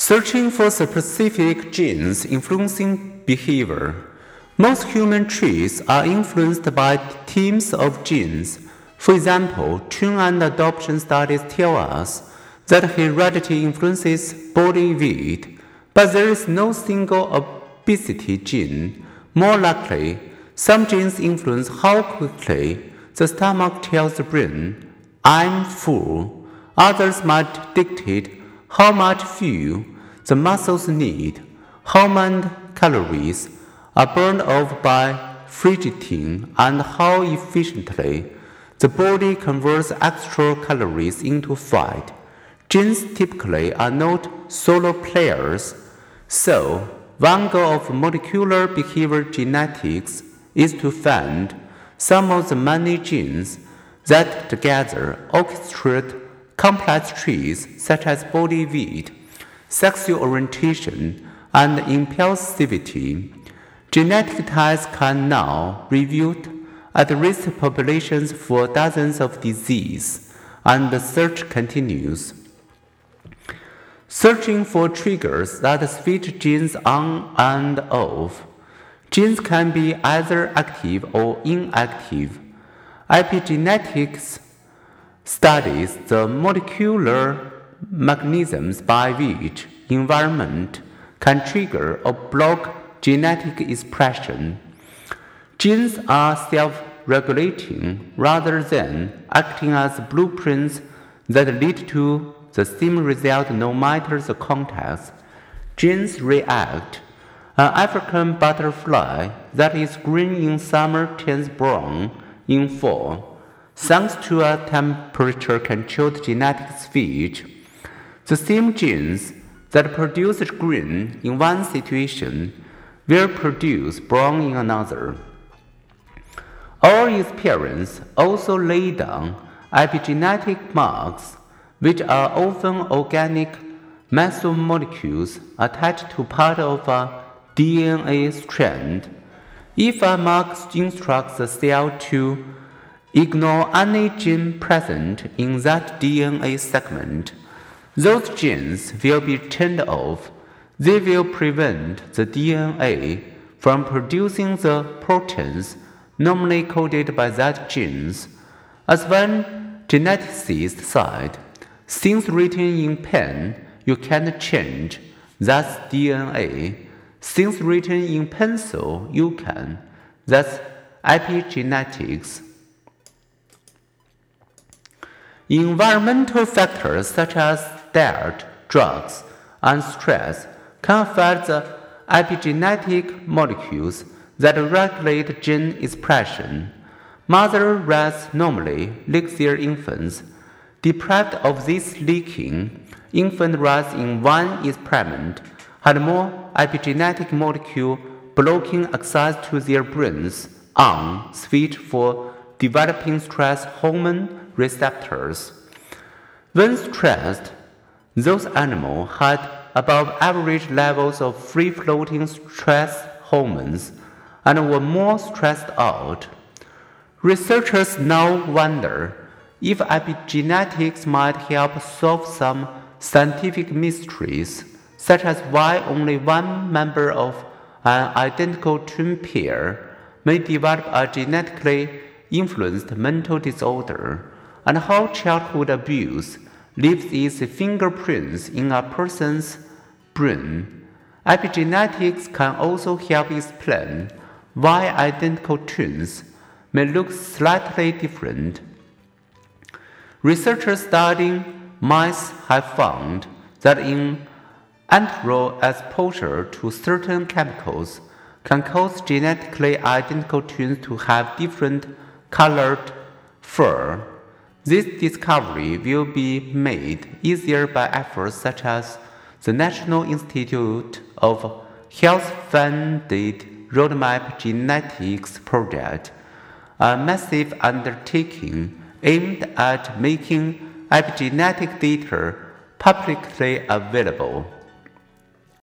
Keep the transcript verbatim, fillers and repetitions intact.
Searching for specific genes influencing behavior. Most human traits are influenced by teams of genes. For example, twin and adoption studies tell us that heredity influences body weight, but there is no single obesity gene. More likely, some genes influence how quickly the stomach tells the brain, "I'm full." Others might dictate how much fuel the muscles need, how many calories are burned off by fidgeting, and how efficiently the body converts extra calories into fat. Genes typically are not solo players, so one goal of molecular behavior genetics is to find some of the many genes that together orchestrate complex traits such as body weight, sexual orientation, and impulsivity. Genetic tests can now reveal at-risk populations for dozens of diseases, and the search continues. Searching for triggers that switch genes on and off. Genes can be either active or inactive. Epigenetics studies the molecular mechanisms by which environment can trigger or block genetic expression. Genes are self-regulating rather than acting as blueprints that lead to the same result no matter the context. Genes react. An African butterfly that is green in summer turns brown in fall, thanks to a temperature-controlled genetic switch. The same genes that produce green in one situation will produce brown in another. Our experience also lay down epigenetic marks, which are often organic mesomolecules attached to part of a D N A strand. If a mark instructs the cell to ignore any gene present in that D N A segment, those genes will be turned off. They will prevent the D N A from producing the proteins normally coded by that genes. As one geneticist said, "Things written in pen you can't change, that's D N A. Things written in pencil you can, that's epigenetics." Environmental factors such as diet, drugs, and stress can affect the epigenetic molecules that regulate gene expression. Mother rats normally lick their infants. Deprived of this licking, infant rats in one experiment had more epigenetic molecule blocking access to their brains on switch for developing stress hormone receptors. When stressed, those animals had above average levels of free-floating stress hormones and were more stressed out. Researchers now wonder if epigenetics might help solve some scientific mysteries, such as why only one member of an identical twin pair may develop a genetically influenced mental disorder, and how childhood abuse leaves its fingerprints in a person's brain. Epigenetics can also help explain why identical twins may look slightly different. Researchers studying mice have found that in antral exposure to certain chemicals can cause genetically identical twins to have different colored fur. This discovery will be made easier by efforts such as the National Institute of Health-funded Roadmap Genetics project, a massive undertaking aimed at making epigenetic data publicly available.